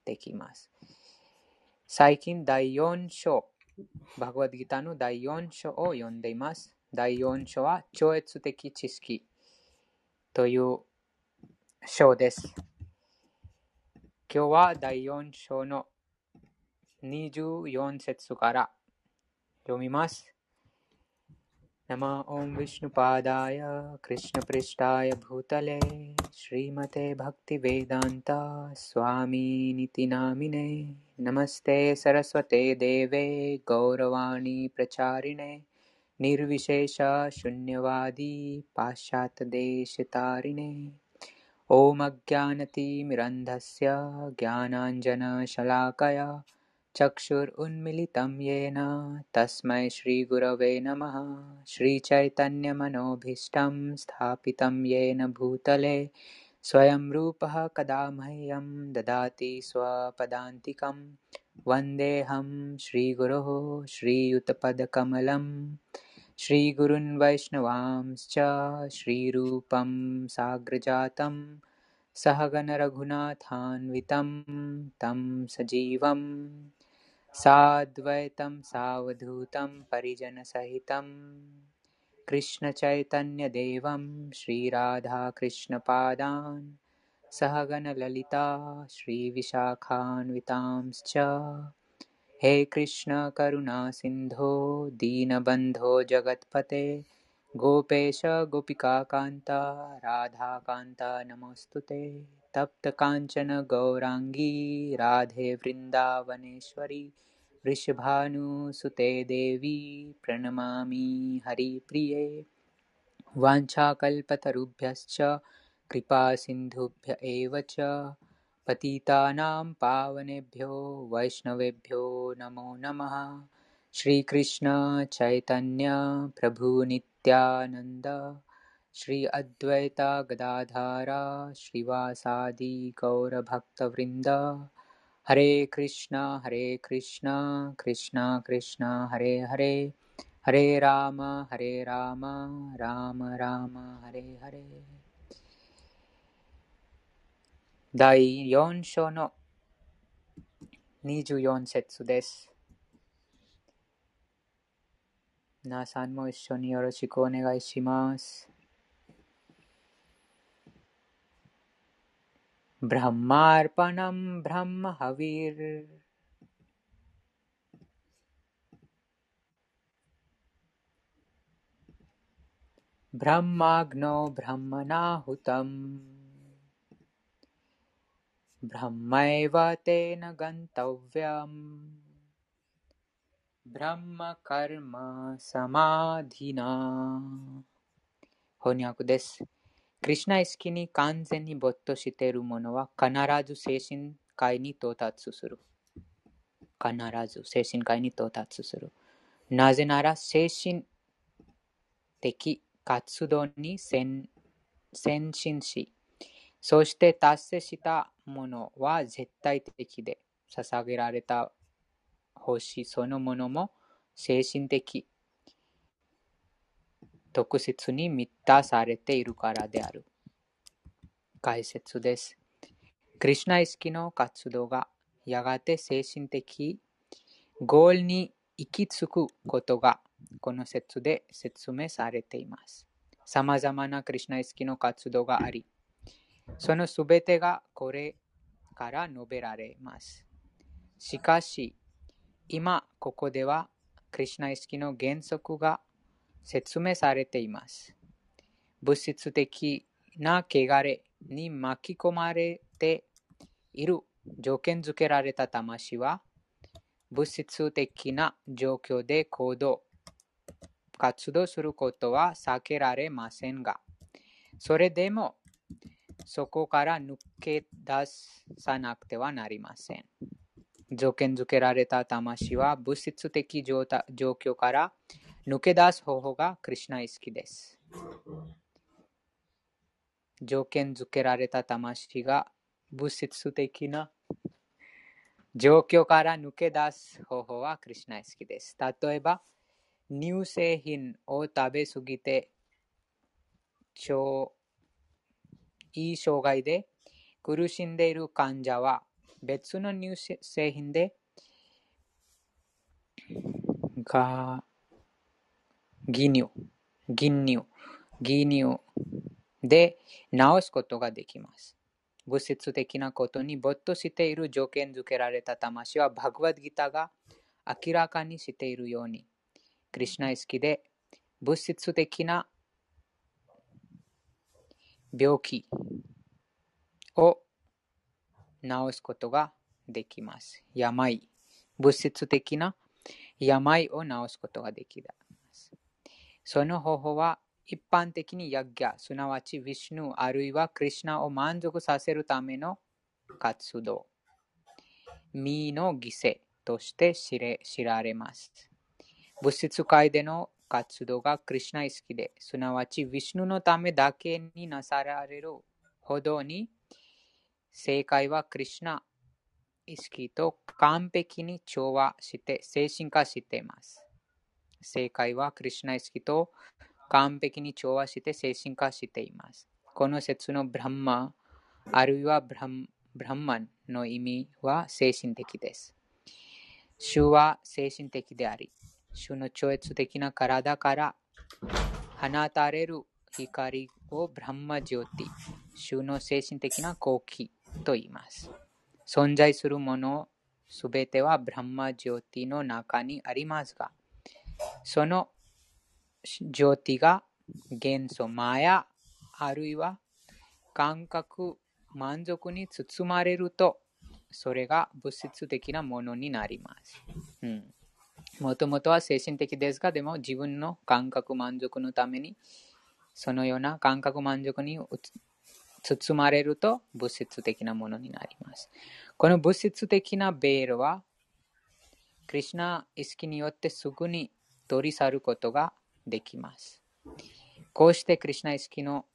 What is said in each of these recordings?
できます。最近第4章、バグワッドギターの第4章を読んでいます。第4章は超越的知識という章です。今日は第4章の24節から読みます。नमः ओं विष्णुपादाय कृष्णपृष्ठाय भूतले श्रीमते भक्तिवेदान्ता स्वामिनिति नामिने नमस्ते सरस्वते देवे गौरवाणी प्रचारिणे निर्विशेष शून्यवादी पाश्चात्यदेशतारिणे ॐ अज्ञानतिमिरन्धस्य ज्ञानाञ्जनशलाकया चक्षुरुन्मिलितं येन तस्मै श्रीगुरवे नमः। श्रीचैतन्यमनोभीष्टं स्थापितं येन भूतले स्वयं रूपः कदा मह्यं ददाति स्वपदान्तिकं वन्देऽहं श्रीगुरोः श्रीयुतपदकमलं श्रीगुरून् वैष्णवांश्च श्रीरूपं साग्रजातं सहगणरघुनाथान्वितं तं सजीवं साद्वैतं सावधूतं परिजनसहितं कृष्णचैतन्यदेवं श्रीराधाकृष्णपादान् सहगणललिता श्रीविशाखान्वितांश्च हे कृष्ण करुणा सिन्धो दीनबन्धो जगत्पते गोपेश गोपिकान्ता राधाकान्ता नमोऽस्तुते तप्त काञ्चन गौराङ्गी राधे वृन्दावनेश्वरी वृषभानुसुते देवी प्रणमामि हरिप्रिये वाञ्छाकल्पतरुभ्यश्च कृपासिन्धुभ्य एव च पतितानां पावनेभ्यो वैष्णवेभ्यो नमो नमः। श्रीकृष्ण चैतन्य प्रभु नित्यानंद श्री अद्वैत गदाधर श्रीवासादि गौरभक्तवृंद हरे कृष्णा कृष्णा कृष्णा हरे हरे हरे राम राम राम हरे हरे。第4章の24節です。皆さんも一緒によろしくお願いします。ブランマーパナムブランマハヴィルブランマグノブランマナーフタムブランマエヴァテナガンタウヴィアムブランマカルマサマディナ。翻訳です。クリシュナ意識に完全に没頭している者は必ず精神界に到達する。必ず精神界に到達する。なぜなら精神的活動に先進し、そして達成したものは絶対的で、捧げられた星そのものも精神的特質に満たされているからである。解説です。クリシュナ意識の活動がやがて精神的ゴールに行き着くことがこの説で説明されています。さまざまなクリシュナ意識の活動があり、そのすべてがこれから述べられます。しかし、今ここではクリシュナ意識の原則が説明されています。物質的な汚れに巻き込まれている条件付けられた魂は、物質的な状況で活動することは避けられませんが、それでもそこから抜け出さなくてはなりません。条件付けられた魂は物質的状況から抜け出す方法がクリシュナ意識です。条件付けられた魂が物質的な状況から抜け出す方法はクリシュナ意識です。例えば、乳製品を食べ過ぎて胃障害で苦しんでいる患者は別の乳製品で銀乳で治すことができます。物質的なことに没頭している条件づけられた魂はバグワッドギターが明らかにしているように、クリシュナ意識で物質的な病気を治すことができます。物質的な病を治すことができます。その方法は一般的にヤッギャ、すなわちヴィシュヌあるいはクリシュナを満足させるための活動、身の犠牲として知られます。物質界での活動がクリシュナ意識で、すなわちヴィシュヌのためだけになされるほどに、正解はクリシュナ意識と完璧に調和して精神化しています。正解はクリシュナ意識と完璧に調和して精神化しています。この説のブランマあるいはブランマンの意味は精神的です。主は精神的であり、主の超越的な体から放たれる光をブランマジョーティ、主の精神的な光輝と言います。存在するものすべてはブランマジョーティの中にありますが、そのジョーティが元素マヤあるいは感覚満足に包まれると、それが物質的なものになります。もともとは精神的ですが、でも自分の感覚満足のために、そのような感覚満足に包まれると物質的なものになります。この物質的なベールは、クリシュナ意識によってすぐに取り去ることができます。こうしてクリシュナ意識の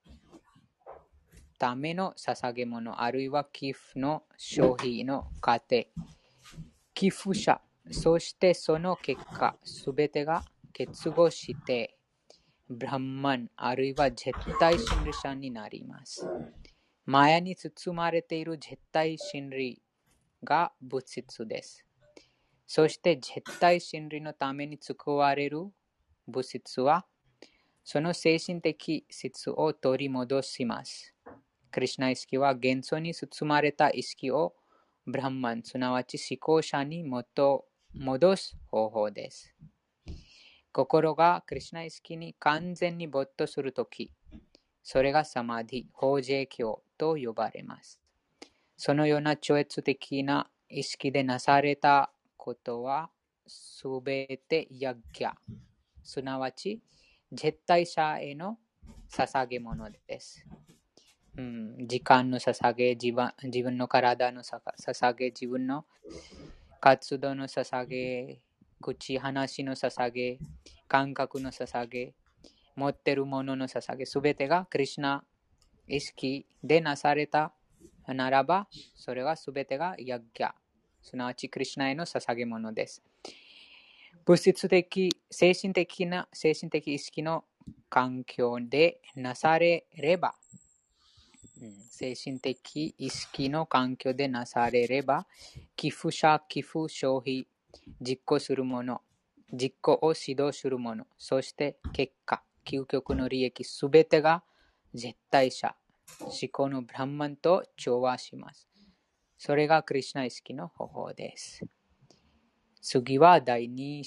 ための捧げ物、あるいは寄付の消費の過程、寄付者、そしてその結果、すべてが結合して、ブランマン、あるいは絶対真理者になります。マヤに包まれている絶対真理が物質です。そして絶対真理のために作られる物質は、その精神的質を取り戻します。クリシュナ意識は元素に包まれた意識をブランマン、すなわち思考者に戻す方法です。心がクリシュナ意識に完全に没頭するとき、それがサマディ、法税教と呼ばれます。そのような超越的な意識でなされたことは、すべてヤッギャ、すなわち絶対者への捧げ物です。時間の捧げ、自分の体の捧げ、自分の活動の捧げ、口話の捧げ、感覚の捧げ、持っているものの捧げ、すべてがクリシュナ意識でなされたならば、それはすべてがヤッギャ、すなわちクリシュナへの捧げ物です。物質的、精神的意識の環境でなされれば、精神的意識の環境でなされれば、寄付者、寄付、消費、実行するもの、実行を指導するもの、そして結果、究極の利益すべてが絶対者、思考のブランマンと調和します。それがクリシュナ意識の方法です。次は第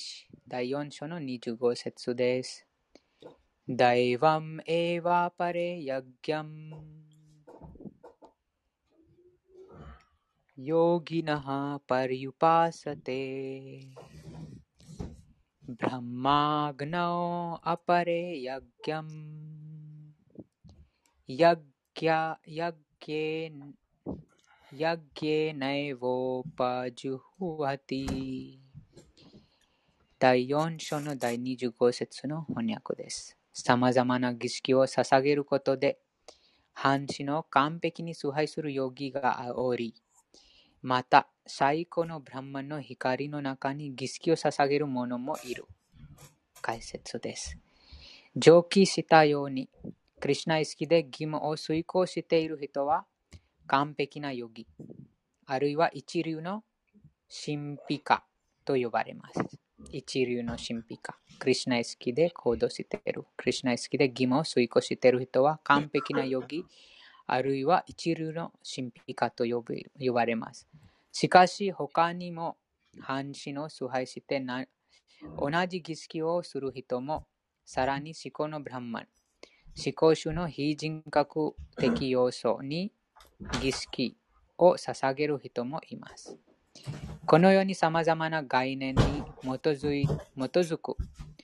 4章の25節です。ダイヴァムエヴァパレヤッギャムヨギナハパリユパサテブランマグナオアパレヤッギャムヤッギェナエヴォパジュフワティ。第4章の第25節の翻訳です。さまざまな儀式を捧げることで、半地の完璧に崇拝するヨギがおり、また最高のブランマンの光の中に儀式を捧げる者もいる。解説です。上記したように、クリシュナ意識で義務を遂行している人は完璧なヨギ、 あるいは一流の神秘家と呼ばれます。一流の神秘家。クリシュナ意識で行動している。クリシュナ意識で義務を遂行している人は完璧なヨギ、あるいは一流の神秘家と呼ばれます。しかし他にも半身を崇拝して同じ儀式をする人も、さらに思考のブランマン、思考種の非人格的要素に儀式を捧げる人もいます。このように様々な概念に基づく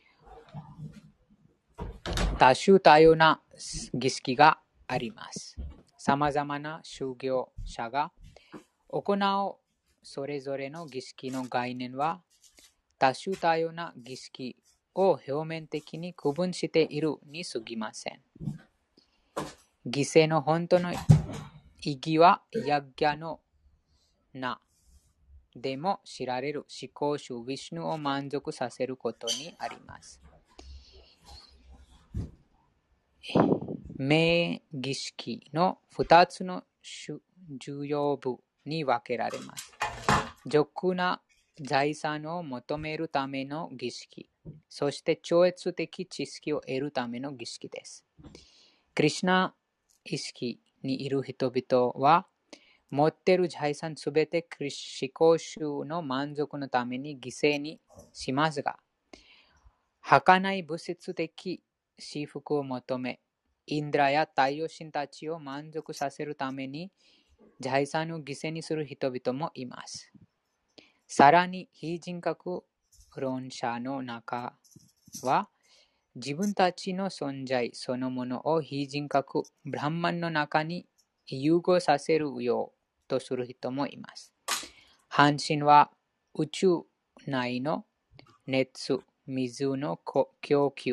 多種多様な儀式があります。様々な宗教者が行うそれぞれの儀式の概念は多種多様な儀式を表面的に区分しているに過ぎません。犠牲の本当の意義はヤッギャの名でも知られる思考主ヴィシュヌを満足させることにあります。名儀式の2つの重要部に分けられます。俗な財産を求めるための儀式、そして超越的知識を得るための儀式です。クリシュナ意識にいる人々は、持っている財産すべて思考主の満足のために犠牲にしますが、儚い物質的幸福を求め、インドラや太陽神たちを満足させるために財産を犠牲にする人々もいます。さらに非人格論者の中は、自分たちの存在そのものを非人格ブランマンの中に融合させるようとする人もいます。半身は宇宙内の熱、水の供給、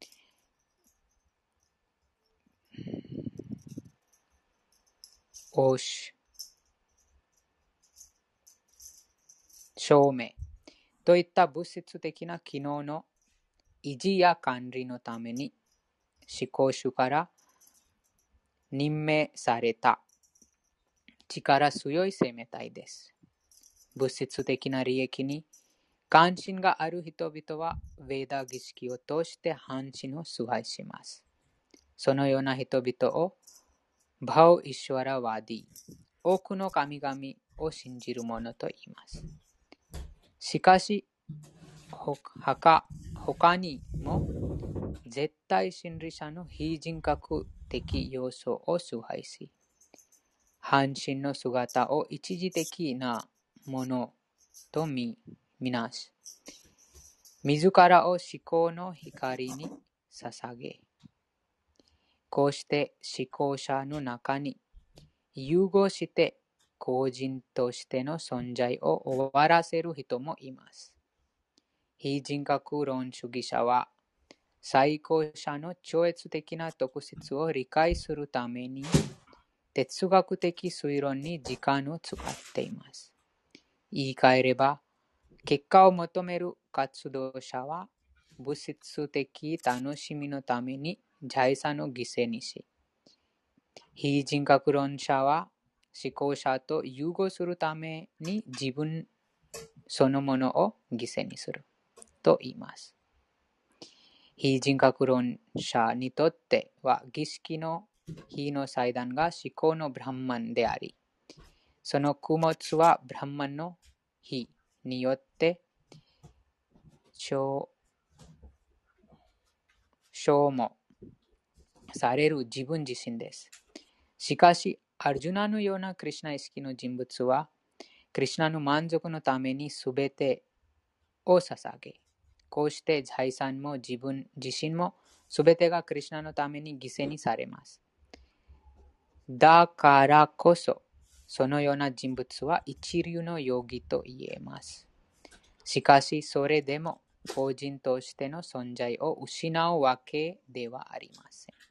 照明といった物質的な機能の維持や管理のために思考主から任命された力強い生命体です。物質的な利益に関心がある人々はヴェーダ儀式を通して半身を崇拝します。そのような人々をバウ・イシュワラワディ、多くの神々を信じる者と言います。しかし他にも絶対真理者の非人格的要素を崇拝し、半身の姿を一時的なものとみなし、自らを思考の光に捧げ、こうして思考者の中に融合して個人としての存在を終わらせる人もいます。非人格論主義者は最高者の超越的な特質を理解するために哲学的推論に時間を使っています。言い換えれば、結果を求める活動者は物質的楽しみのために財産を犠牲にし、非人格論者は思考者と融合するために自分そのものを犠牲にすると言います。非人格論者にとっては儀式の火の祭壇が思考のブランマンであり、その供物はブランマンの火によって消耗される自分自身です。しかし、アルジュナのようなクリシュナ意識の人物は、クリシュナの満足のためにすべてを捧げ、こうして財産も自分自身もすべてがクリシュナのために犠牲にされます。だからこそ、そのような人物は一流のヨギと言えます。しかし、それでも個人としての存在を失うわけではありません。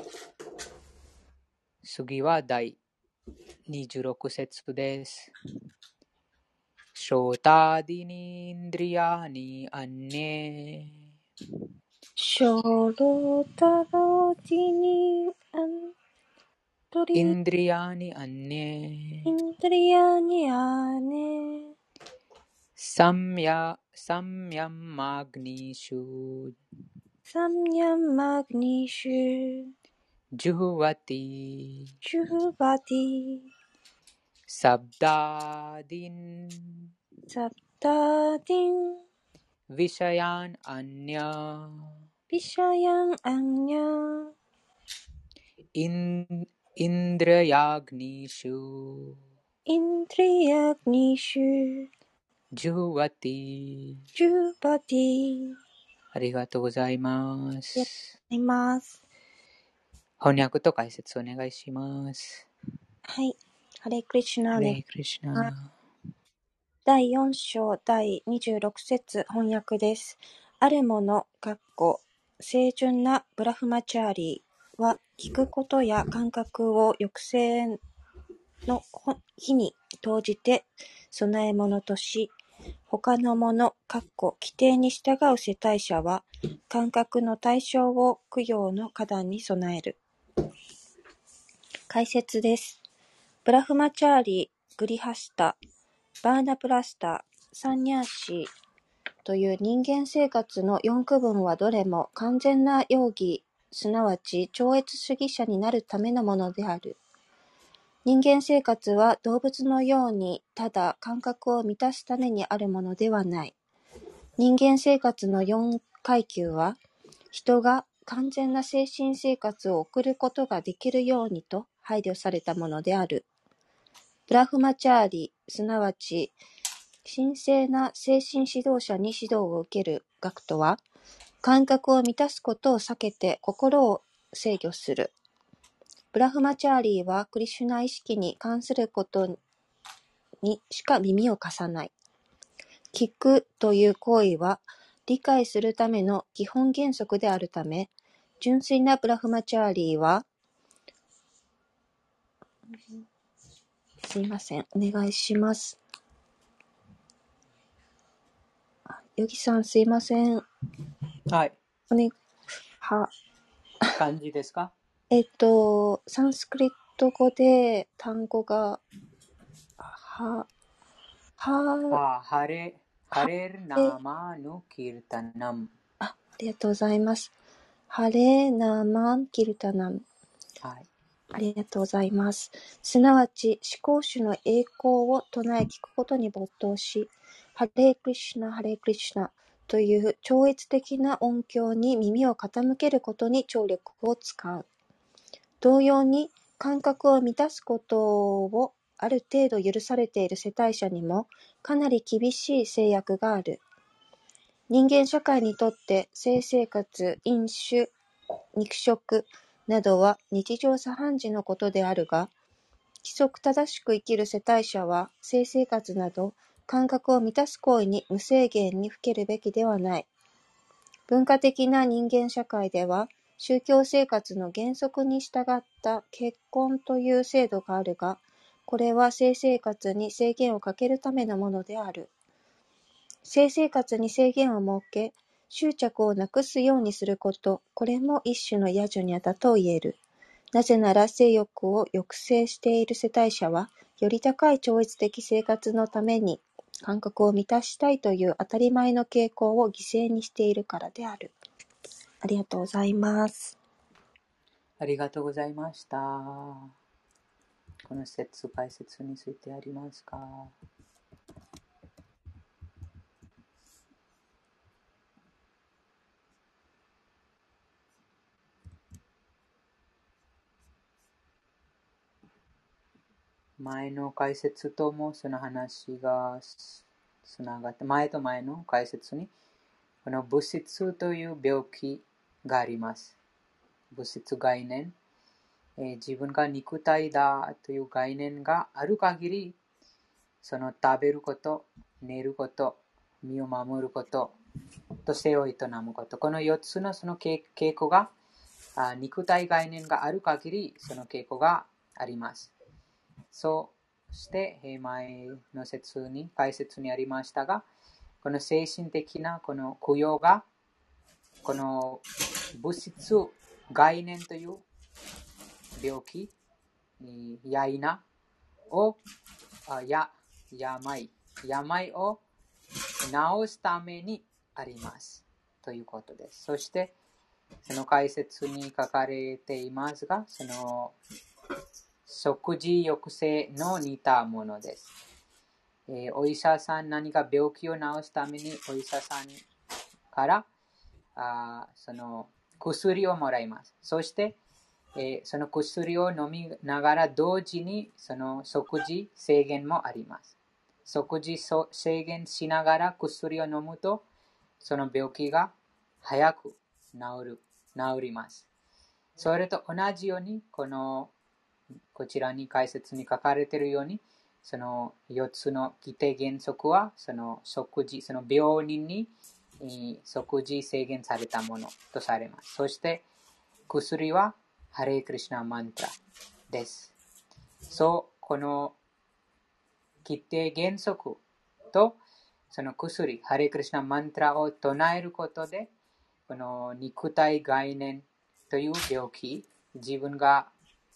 次は第26節です。ショータディニンドリヤニアンネショロタロディニアンインドリヤニアネインドリヤニアネサムヤマグニシュサムヤンマグニシュジュフワティシュフバティサブダーディンサプターディンヴィシャヤンアニャピシャヤンアンニャインドラヤグニシュインドリヤグニシュジュフワティ。 ジュバティ。 ありがとうございまありがとうす。 ございます。 翻訳と解説お願いします。 はい。ハレクリシュナハお願いレクリシュします。 ナ。 第4章第26節翻訳です。あるもの、清純なブラフマチャーリーは、聞くことや感覚を抑制の日に投じて供え物とし、他のもの、規定に従う世帯者は、感覚の対象を供養の花壇に備える。解説です。ブラフマチャーリー、グリハスタ、バーナプラスタ、サンニャーシーという人間生活の4区分はどれも完全なヨーギ、すなわち超越主義者になるためのものである。人間生活は動物のようにただ感覚を満たすためにあるものではない。人間生活の4階級は、人が完全な精神生活を送ることができるようにと配慮されたものである。ブラフマチャーリ、すなわち神聖な精神指導者に指導を受ける学とは、感覚を満たすことを避けて心を制御する。ブラフマチャーリーはクリシュナ意識に関することにしか耳を貸さない。聞くという行為は理解するための基本原則であるため、純粋なブラフマチャーリーは、すいません、お願いします。ヨギさんすいません。 はい。 は、 漢字ですか？ サンスクリット語で単語が、ハレルナマヌキルタナム。 ありがとうございます。ハレナマンキルタナム。 はい。 ありがとうございます。すなわち、思考主の栄光を唱え聞くことに没頭し、ハレークリシュナ、ハレークリシュナという超越的な音響に耳を傾けることに聴力を使う。同様に、感覚を満たすことをある程度許されている世帯者にも、かなり厳しい制約がある。人間社会にとって性生活、飲酒、肉食などは日常茶飯事のことであるが、規則正しく生きる世帯者は性生活など感覚を満たす行為に無制限にふけるべきではない。文化的な人間社会では宗教生活の原則に従った結婚という制度があるが、これは性生活に制限をかけるためのものである。性生活に制限を設け、執着をなくすようにすること、これも一種の野女にあたと言える。なぜなら性欲を抑制している世帯者は、より高い超越的生活のために感覚を満たしたいという当たり前の傾向を犠牲にしているからである。ありがとうございます。 ありがとうございました。この解説についてありますか？前の解説ともその話がつながって、前の解説にこの物質という病気があります。物質概念、自分が肉体だという概念がある限り、その食べること、寝ること、身を守ること、と性を営むこと、この4つのその傾向が、肉体概念がある限り、その傾向があります。そして、前の解説にありましたが、この精神的なこの供養が、この物質概念という病気病を病を治すためにありますということです。そしてその解説に書かれていますが、その食事抑制の似たものです。お医者さん、何か病気を治すためにお医者さんからその薬をもらいます。そして、その薬を飲みながら同時にその食事制限もあります。食事制限しながら薬を飲むとその病気が早く治ります。それと同じようにこちらに解説に書かれているようにその4つの規定原則はその病人に食事制限されたものとされます。そして薬はハレークリシュナマントラです。この規定原則とその薬、ハレークリシュナマントラを唱えることで、この肉体概念という病気、自分が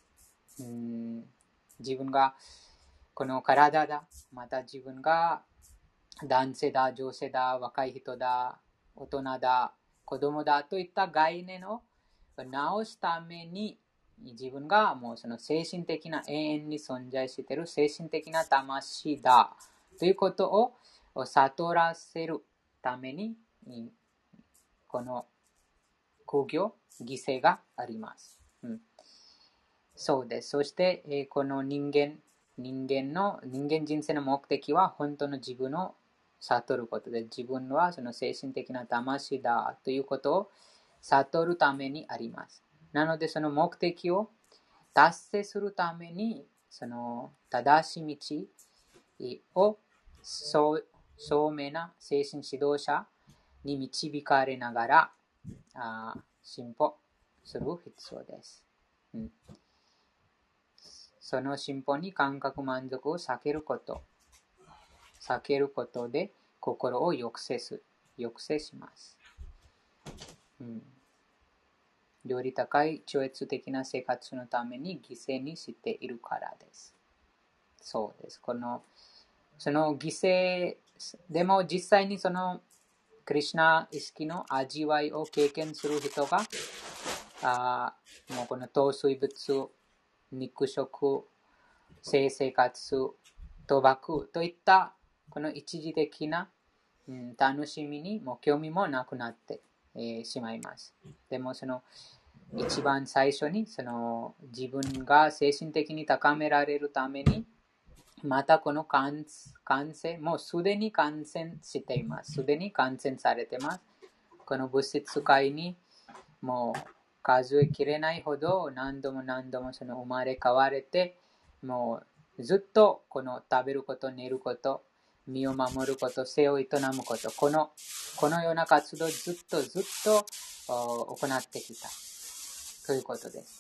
この体だ、また自分が男性だ、女性だ、若い人だ、大人だ、子供だといった概念を直すために自分がもうその精神的な永遠に存在している精神的な魂だということを悟らせるためにこの苦行、犠牲があります。そうです。そして、この人間人生の目的は本当の自分を悟ることで、自分はその精神的な魂だということを悟るためにあります。なので、その目的を達成するために、その正しい道を聡明な精神指導者に導かれながら進歩する必要です。その進歩に感覚満足を避けることで心を抑制します。より高い超越的な生活のために犠牲にしているからです。そうです。その犠牲でも実際にそのクリシュナ意識の味わいを経験する人がもうこの糖水物、肉食、性生活、賭博といったこの一時的な、楽しみにも興味もなくなって、しまいます。でもその一番最初にその自分が精神的に高められるためにまたこの感染、もうすでに感染しています。すでに感染されています。この物質界にもう数えきれないほど何度もその生まれ変われて、もうずっとこの食べること、寝ること、身を守ること、生を営むこと、このような活動をずっと行ってきたということです。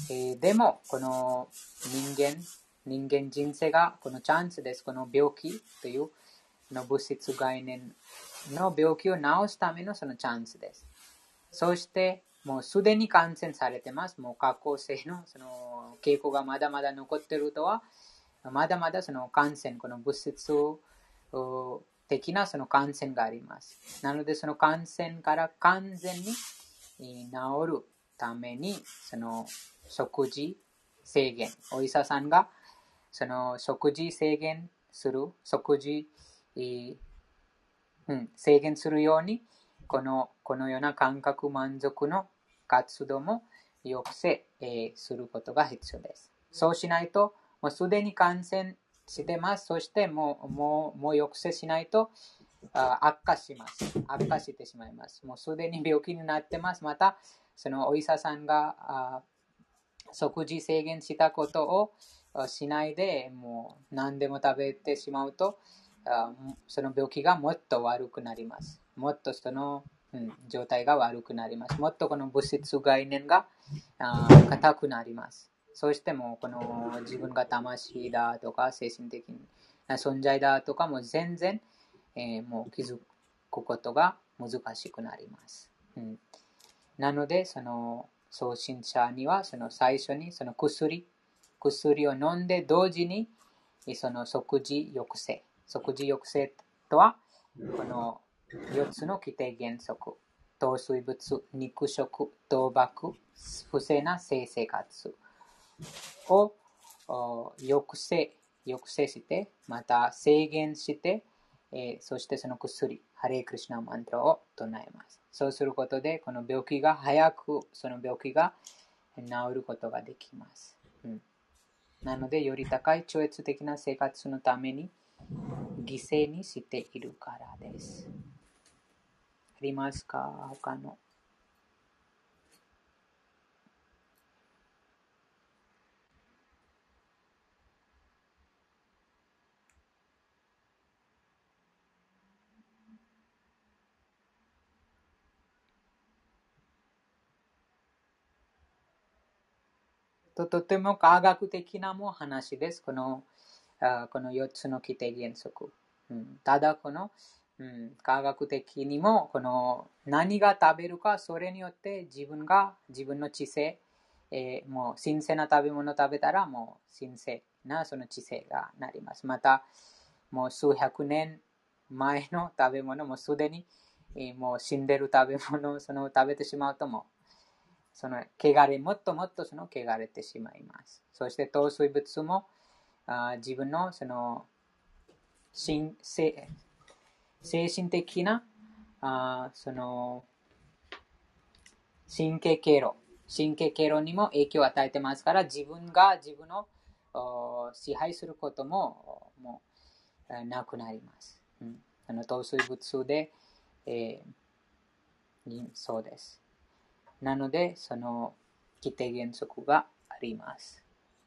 でもこの人間人生がこのチャンスです。この病気というの物質概念の病気を治すためのそのチャンスです。そしてもうすでに感染されてます。もう過去性のその傾向がまだまだ残っているとは、まだまだその感染、この物質的なその感染があります。なのでその感染から完全に治るためにその食事制限、お医者さんがその食事制限する、制限するようにこのような感覚満足の活動も抑制、することが必要です。そうしないと、もうすでに感染してます。そしてもう抑制しないと悪化してしまいます。もうすでに病気になってます。また、そのお医者さんが食事制限したことをしないで、もう何でも食べてしまうと、その病気がもっと悪くなります。もっとその、状態が悪くなります。もっとこの物質概念が硬くなります。そしてもこの自分が魂だとか精神的な存在だとかも全然、もう気づくことが難しくなります。なのでその送信者にはその最初にその薬薬を飲んで同時にその食事抑制。食事抑制とは、この4つの規定原則。糖水物、肉食、賭博、不正な性生活を抑制して、また制限して、そしてその薬、ハレークリシュナマントラを唱えます。そうすることで、この病気が早く、その病気が治ることができます。なので、より高い超越的な生活のために犠牲にしているからです。ありますか？他の。とても科学的なも話です。この4つの規定原則。ただ科学的にも何が食べるか、それによって自分の知性、もう新鮮な食べ物を食べたらもう新鮮なその知性がなります。またもう数百年前の食べ物もすでに、もう死んでる食べ物を食べてしまうとももっともっと汚れてしまいます。そして糖水物も自分の精神的な神経経路にも影響を与えてますから、自分が自分を支配することももうなくなります。糖水物で、そうです。なので、その規定原則があります。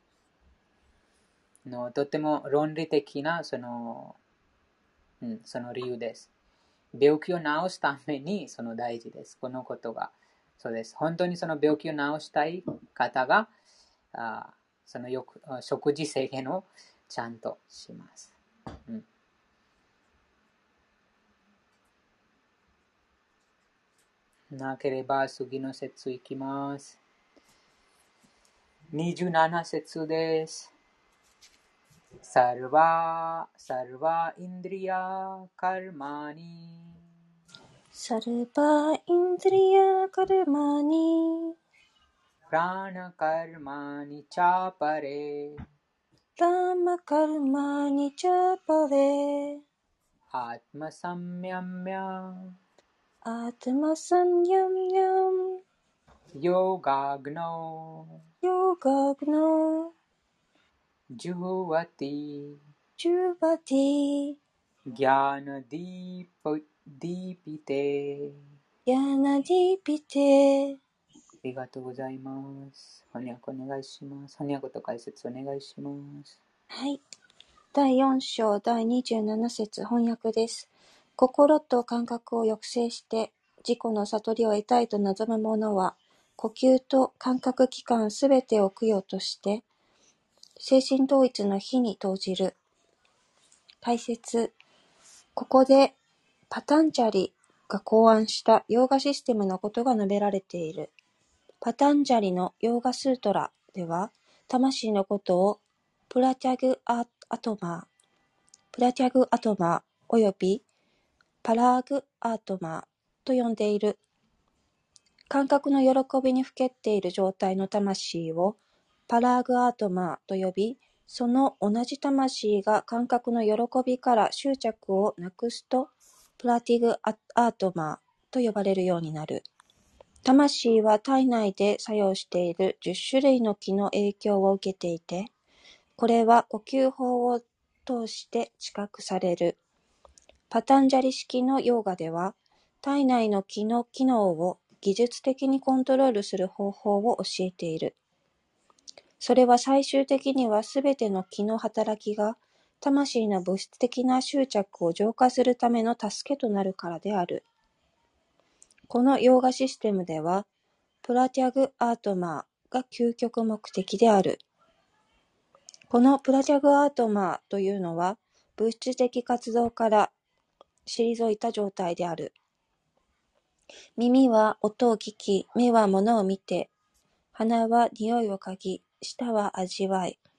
とても論理的なその理由です。病気を治すために大事です。このことが。そうです。本当にその病気を治したい方が、食事制限をちゃんとします。なければ次の節いきます。27節です。サルバインドリアカルマニサルバインドリアカルマニプラナカルマニチャパレラマカルマニチャパレアトマサミャミャアトマサンヤムヤムヨガグノヨガグノジュワティジュバティギャナディピテヤナディピテ。 ありがとうございます。翻訳お願いします。翻訳と解説お願いします。 はい。第4章第27節翻訳です。心と感覚を抑制して自己の悟りを得たいと望む者は、呼吸と感覚器官すべてを供養として、精神統一の火に投じる。解説。ここでパタンジャリが考案したヨーガシステムのことが述べられている。パタンジャリのヨーガスートラでは、魂のことをプラティャグアトマーおよびパラーグアートマーと呼んでいる。感覚の喜びにふけっている状態の魂をパラーグアートマーと呼び、その同じ魂が感覚の喜びから執着をなくすとプラティグアートマーと呼ばれるようになる。魂は体内で作用している10種類の気の影響を受けていて、これは呼吸法を通して知覚される。パタンジャリ式のヨーガでは、体内の気の機能を技術的にコントロールする方法を教えている。それは最終的にはすべての気の働きが魂の物質的な執着を浄化するための助けとなるからである。このヨーガシステムでは、プラティャグアートマーが究極目的である。このプラティャグアートマーというのは、物質的活動から退いた状態である。耳は音を聞き、目は物を見て、鼻は匂いを嗅ぎ、舌は味わい、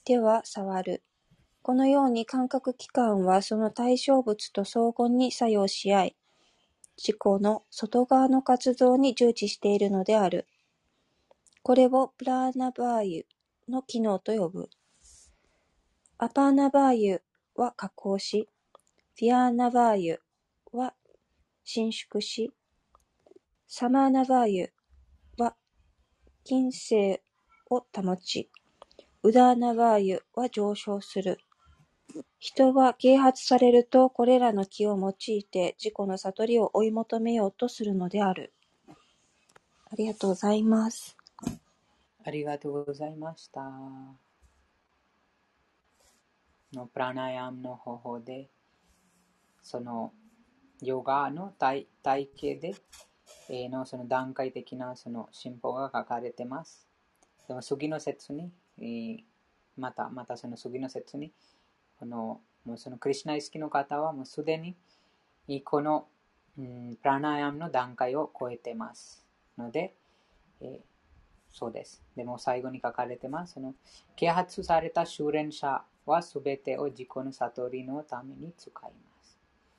手は触る。このように感覚器官はその対象物と相互に作用し合い、自己の外側の活動に従事しているのである。これをプラーナバーユの機能と呼ぶ。アパーナバーユは下降し、フィアーナバーユは伸縮し、サマーナバーユは均静を保ち、ウダーナバーユは上昇する。人は啓発されると、これらの気を用いて自己の悟りを追い求めようとするのである。ありがとうございます。 ありがとうございました。プラナヤムの方法で、そのヨガの体系で、のその段階的なその進歩が書かれています。でも次の節に、またその次の節に、もうそのクリシュナ意識の方はもうすでにこの、プラナヤムの段階を超えていますので、そうです。でも最後に書かれてます。その啓発された修練者はすべてを自己の悟りのために使います。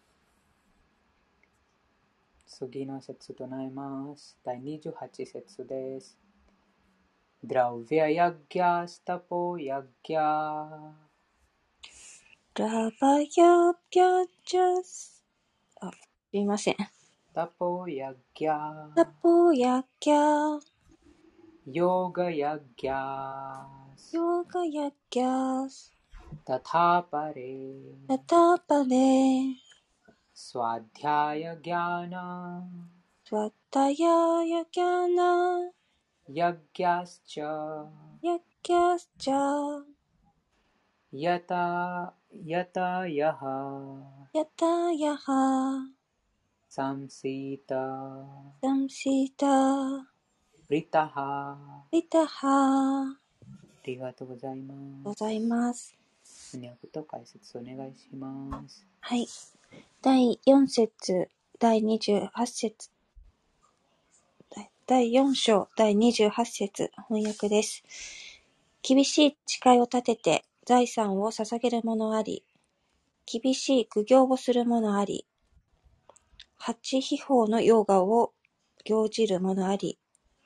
次の節となります。第28節です。ドラウヴィアヤギャスタポヤギャラバヤギャジャス。すみません。 タポヤギャタポヤギャヨガヤギャヨガヤギャス。 タタパレタタパレスワディャヤギャナスワタヤヤギャナヤギャスチャヤギャスチャヤタヤハヤタヤハサムシータサムシータリタハリタハ。 ありがとうございます。 ございます。 翻訳と解説お願いします。 はい。第4節、第28節、第4章、第28節、翻訳です。厳しい誓いを立てて財産を捧げる者あり、厳しい苦行をする者あり、八秘法のヨガを行じる者あり、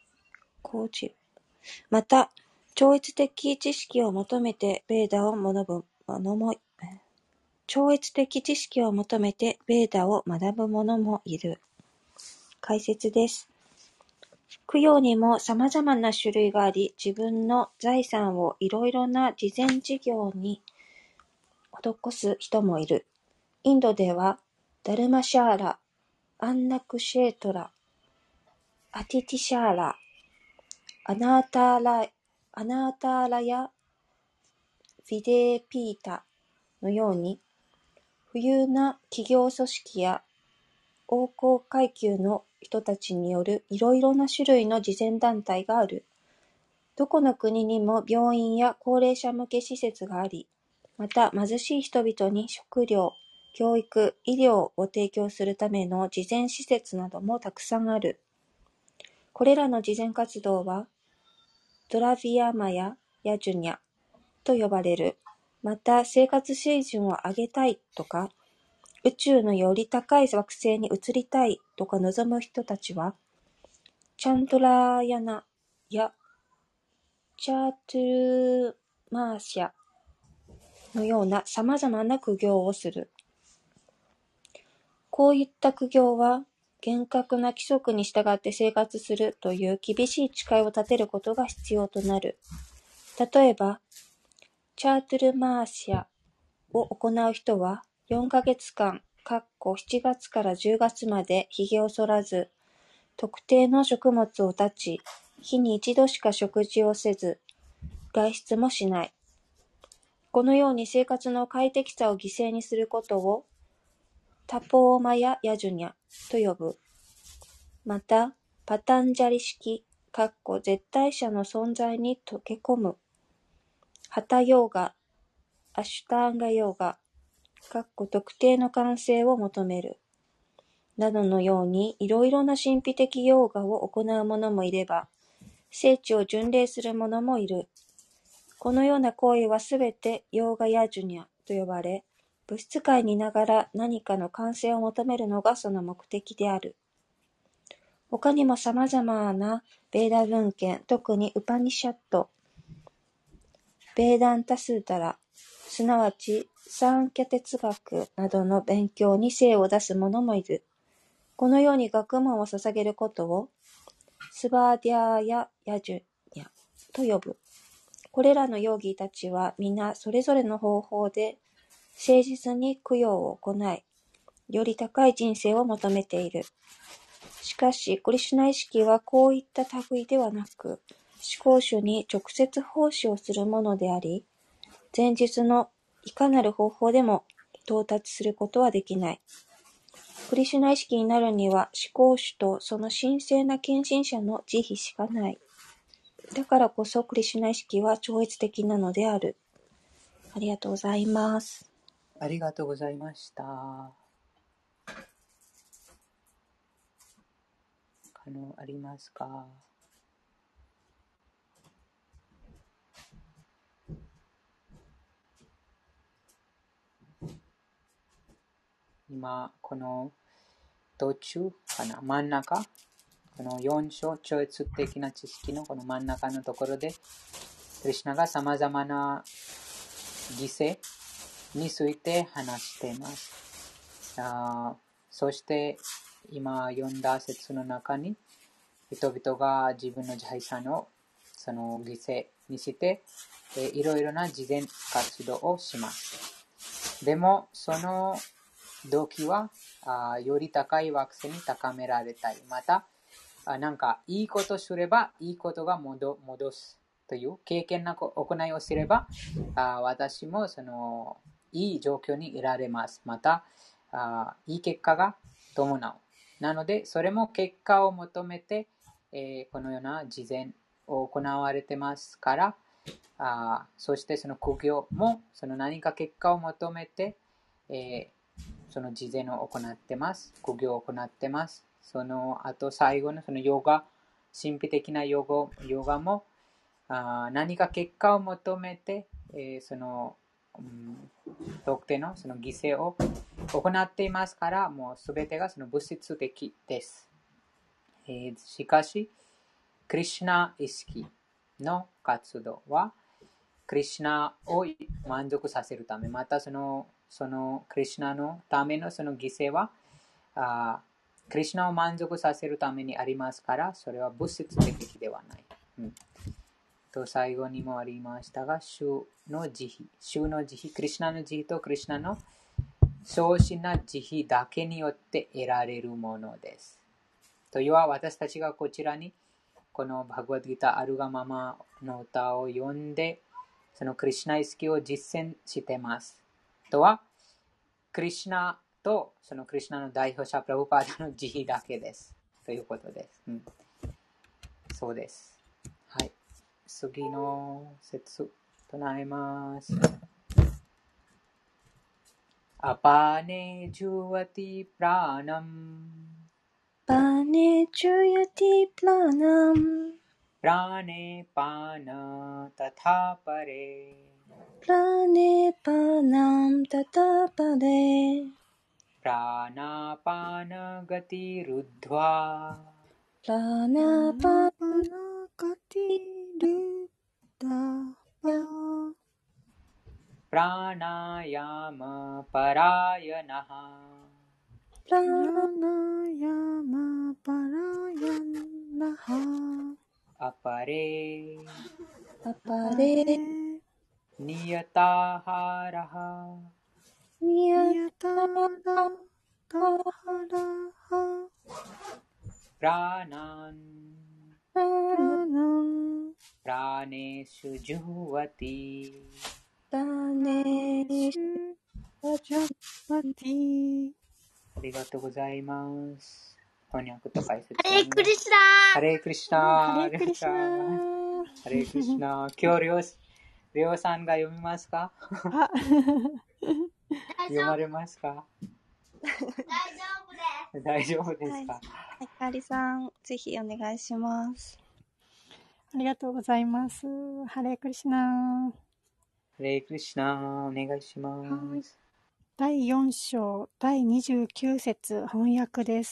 また、超越的知識を求めてベーダを学ぶ者もいる。解説です。供養にも様々な種類があり、自分の財産をいろいろな慈善事業に施す人もいる。インドでは、ダルマシャーラ、アンナクシェートラ、アティティシャーラ、アナーターラやヴィデーピータのように、富裕な企業組織や王侯階級の人たちによるいろいろな種類の慈善団体がある。どこの国にも病院や高齢者向け施設があり、また貧しい人々に食料、教育、医療を提供するための慈善施設などもたくさんある。これらの慈善活動は、ドラビアマヤ・ヤジュニャと呼ばれる。また、生活水準を上げたいとか、宇宙のより高い惑星に移りたいとか望む人たちは、チャンドラーヤナやチャートゥルマーシャのような様々な苦行をする。こういった苦行は、厳格な規則に従って生活するという厳しい誓いを立てることが必要となる。例えば、チャートゥルマーシャを行う人は、4ヶ月間、7月から10月まで髭を剃らず、特定の食物を断ち、日に一度しか食事をせず、外出もしない。このように生活の快適さを犠牲にすることを、タポーマヤ・ヤジュニャと呼ぶ。また、パタンジャリ式、絶対者の存在に溶け込む。ハタヨーガ、アシュタンガヨーガ、特定の完成を求める。などのように、いろいろな神秘的ヨーガを行う者もいれば、聖地を巡礼する者もいる。 このような行為はすべてヨーガヤジュニャと呼ばれ、物質界にいながら何かの完成を求めるのがその目的である。他にも様々なベーダ文献、特にウパニシャット、ベーダンタスータラ、すなわちサンキャ哲学などの勉強に精を出す者もいる。このように学問を捧げることをスバーディアーヤ・ヤジュニャと呼ぶ。これらのヨーギーたちは皆それぞれの方法で誠実に供養を行い、より高い人生を求めている。しかし、クリシュナ意識はこういった類ではなく、思考主に直接奉仕をするものであり、前述のいかなる方法でも到達することはできない。クリシュナ意識になるには、思考主とその神聖な献身者の慈悲しかない。だからこそクリシュナ意識は超越的なのである。ありがとうございます。 ありがとうございました。ありますか？今、この途中かな、真ん中、この4章、超越的な知識のこの真ん中のところで、クリシュナが様々な犠牲について話しています。そして、今読んだ説の中に、人々が自分の財産をその犠牲にして、いろいろな慈善活動をします。でも、その動機はより高い惑星に高められたい。また、なんかいいことすればいいことが戻すという経験な行いをすれば、私もそのいい状況にいられます。また、いい結果が伴う。なので、それも結果を求めて、このような慈善を行われてますから、そしてその苦行もその何か結果を求めて、その慈善を行ってます。苦行を行ってます。その後最後のそのヨガ、神秘的なヨガも何か結果を求めて、その、特定のその犠牲を行っていますから、もうすべてがその物質的です。しかし、クリシュナ意識の活動は、クリシュナを満足させるため、またそのクリシュナのためのその犠牲は、クリシュナを満足させるためにありますから、それは物質的ではない。と最後にもありましたが、主の慈悲、クリシュナの慈悲とクリシュナの相信な慈悲だけによって得られるものです。というは、私たちがこちらにこのバグワッドギータあるがままの歌を読んで、そのクリシュナ意識を実践しています。とは、クリシュナとそのクリシュナの代表者プラブパーダの慈悲だけです。ということです。そうです。はい。次の説唱えます。アパネジュワティプラナムパネチュヤティプラナムプラネパナタタパレプラネパナムタタパレプラナパナガティルドワプラナパナガティルダバプラナヤマパラヤナハプララナヤマパラヤナハアパレアパレニヤタハラハニヤヤタラタハラハプラナンララナンプラネシュジュワティラネシュジャパティありがとうございます。翻訳と解説。 ハレークリシュナハレークリシュナハレークリシュナハレークリシュナ今日レオさんが読みますか？ あ読まれますか？大丈夫ですか？ はい、かりさん、ぜひお願いします。 ありがとうございます。ハレークリシナ。 ハレークリシナ、お願いしまはい。 す。 第4章第29節翻訳です。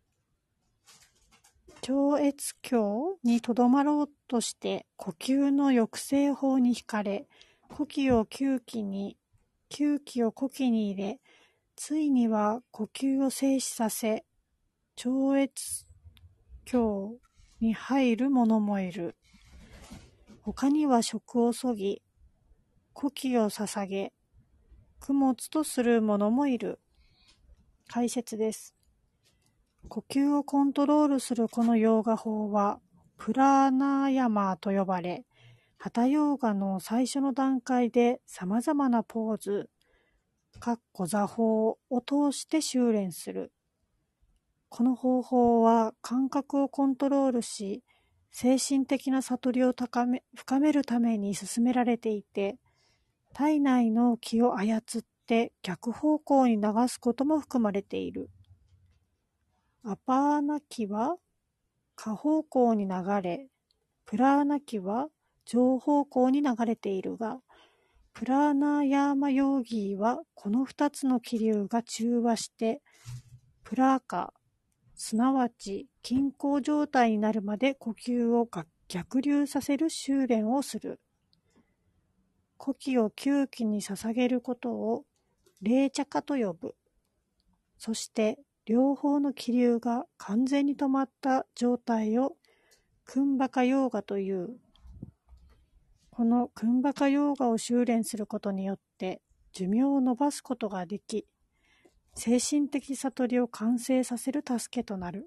超越境にとどまろうとして呼吸の抑制法に惹かれ、呼気を吸気に、吸気を呼気に入れ、ついには呼吸を静止させ、超越境に入る者もいる。他には食をそぎ、呼気を捧げ、供物とする者もいる。解説です。呼吸をコントロールするこのヨーガ法は、プラーナーヤマーと呼ばれ、ハタヨーガの最初の段階で様々なポーズ、座法を通して修練する。この方法は感覚をコントロールし、精神的な悟りを深めるために進められていて、体内の気を操って逆方向に流すことも含まれている。アパーナ気は下方向に流れ、プラーナ気は上方向に流れているが、プラーナーヤーマヨーギーはこの2つの気流が中和して、プラーカ、すなわち均衡状態になるまで呼吸を逆流させる修練をする。呼気を吸気に捧げることを霊茶化と呼ぶ。そして両方の気流が完全に止まった状態をクンバカヨーガという。このクンバカヨーガを修練することによって寿命を伸ばすことができ、精神的悟りを完成させる助けとなる。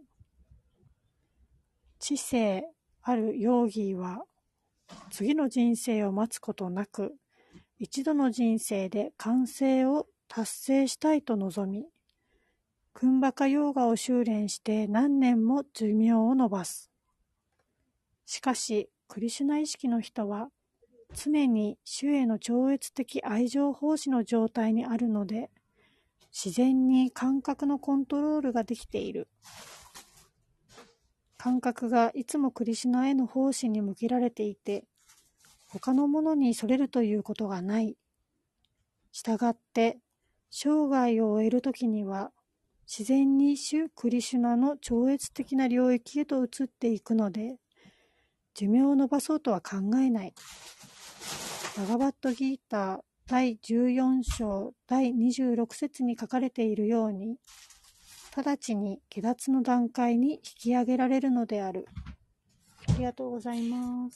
知性あるヨーギーは次の人生を待つことなく、一度の人生で完成を達成したいと望み、クンバカヨーガを修練して何年も寿命を伸ばす。しかし、クリシュナ意識の人は、常に主への超越的愛情奉仕の状態にあるので、自然に感覚のコントロールができている。感覚がいつもクリシュナへの奉仕に向けられていて、他のものにそれるということがない。したがって、生涯を終えるときには、自然に主クリシュナの超越的な領域へと移っていくので、寿命を伸ばそうとは考えない。バガバットギーター第14章第26節に書かれているように、直ちに下脱の段階に引き上げられるのである。ありがとうございます。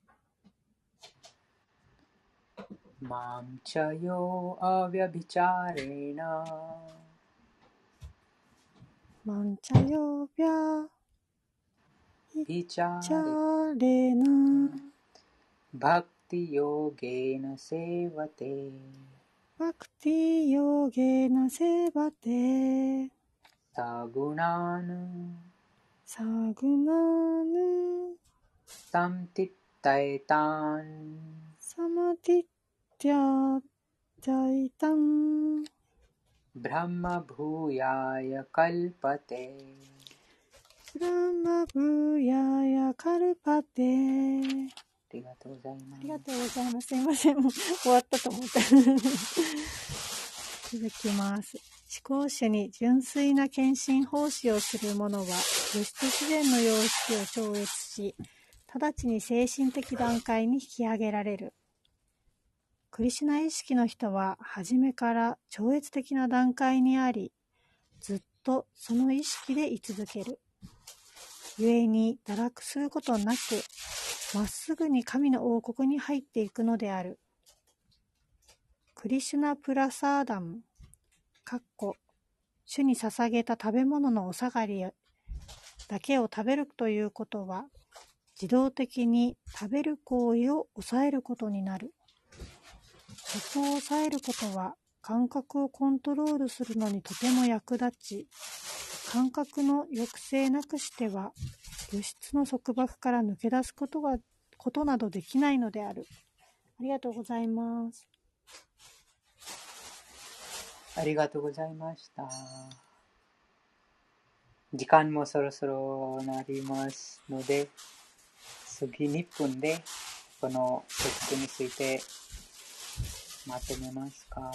マンチャヨアヴャビチャレナマンチャヨビャビチャチャレナバクティヨゲーナセーバテバクティヨゲナセバテサグナヌサグナヌサムティッタエタンサマティティジャイタンブラマブーヤヤカルパテブラマブヤヤカルパテ。 ありがとうございます。 ありがとうございます。すいません。もう終わったと思った。続きます。思考主に純粋な献身奉仕をする者は、物質自然の様式を超越し、直ちに精神的段階に引き上げられる。クリシュナ意識の人は、初めから超越的な段階にあり、ずっとその意識で居続ける。故に堕落することなく、まっすぐに神の王国に入っていくのである。クリシュナプラサーダム、主に捧げた食べ物のお下がりだけを食べるということは、自動的に食べる行為を抑えることになる。食を抑えることは、感覚をコントロールするのにとても役立ち、感覚の抑制なくしては、物質の束縛から抜け出すことなどできないのである。ありがとうございます。 ありがとうございました。時間もそろそろなりますので、 次2分でこのテクストについてまとめますか。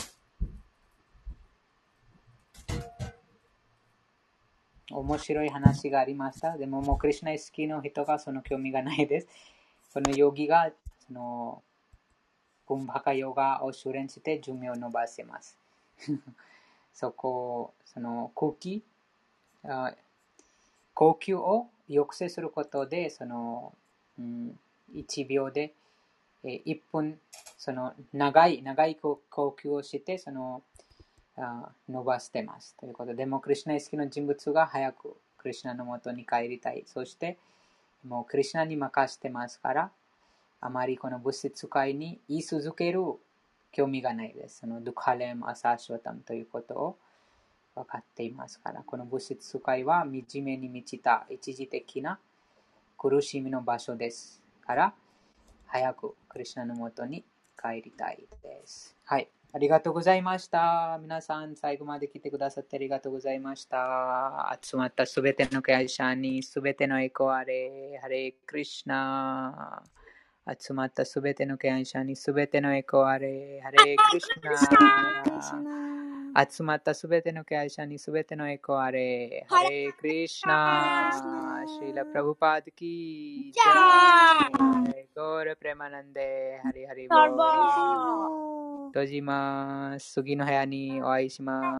面白い話がありました。でももうクリシュナ好きの人がその興味がないです。このヨギがそのクンバカヨガを修練して寿命を伸ばせます。その呼吸を抑制することでその、1秒で1分その長い呼吸をしてその伸ばしてます。ということで、もうクリシュナ好きの人物が早くクリシュナのもとに帰りたい。そしてもうクリシュナに任せてますから、あまりこの物質界に言い続ける興味がないです。そのドゥカレム・アサシュワタムということを分かっていますから、この物質界は惨めに満ちた一時的な苦しみの場所ですから、早くクリシュナのもとに帰りたいです。はい。ありがとうございました。皆さん、最後まで来てくださってありがとうございました。集まったすべての会社にすべてのエコあれ、ハレクリシュナ。集まったすべての会社にすべてのエコあれ、ハレクリシュナ。集まったすべての会社にすべてのエコあれ、ハレクリシュナ。シーラ・プラブパードキージャイ。ゴーラ・プレマナンデ、ハリハリボー。閉じます。次の部屋にお会いします。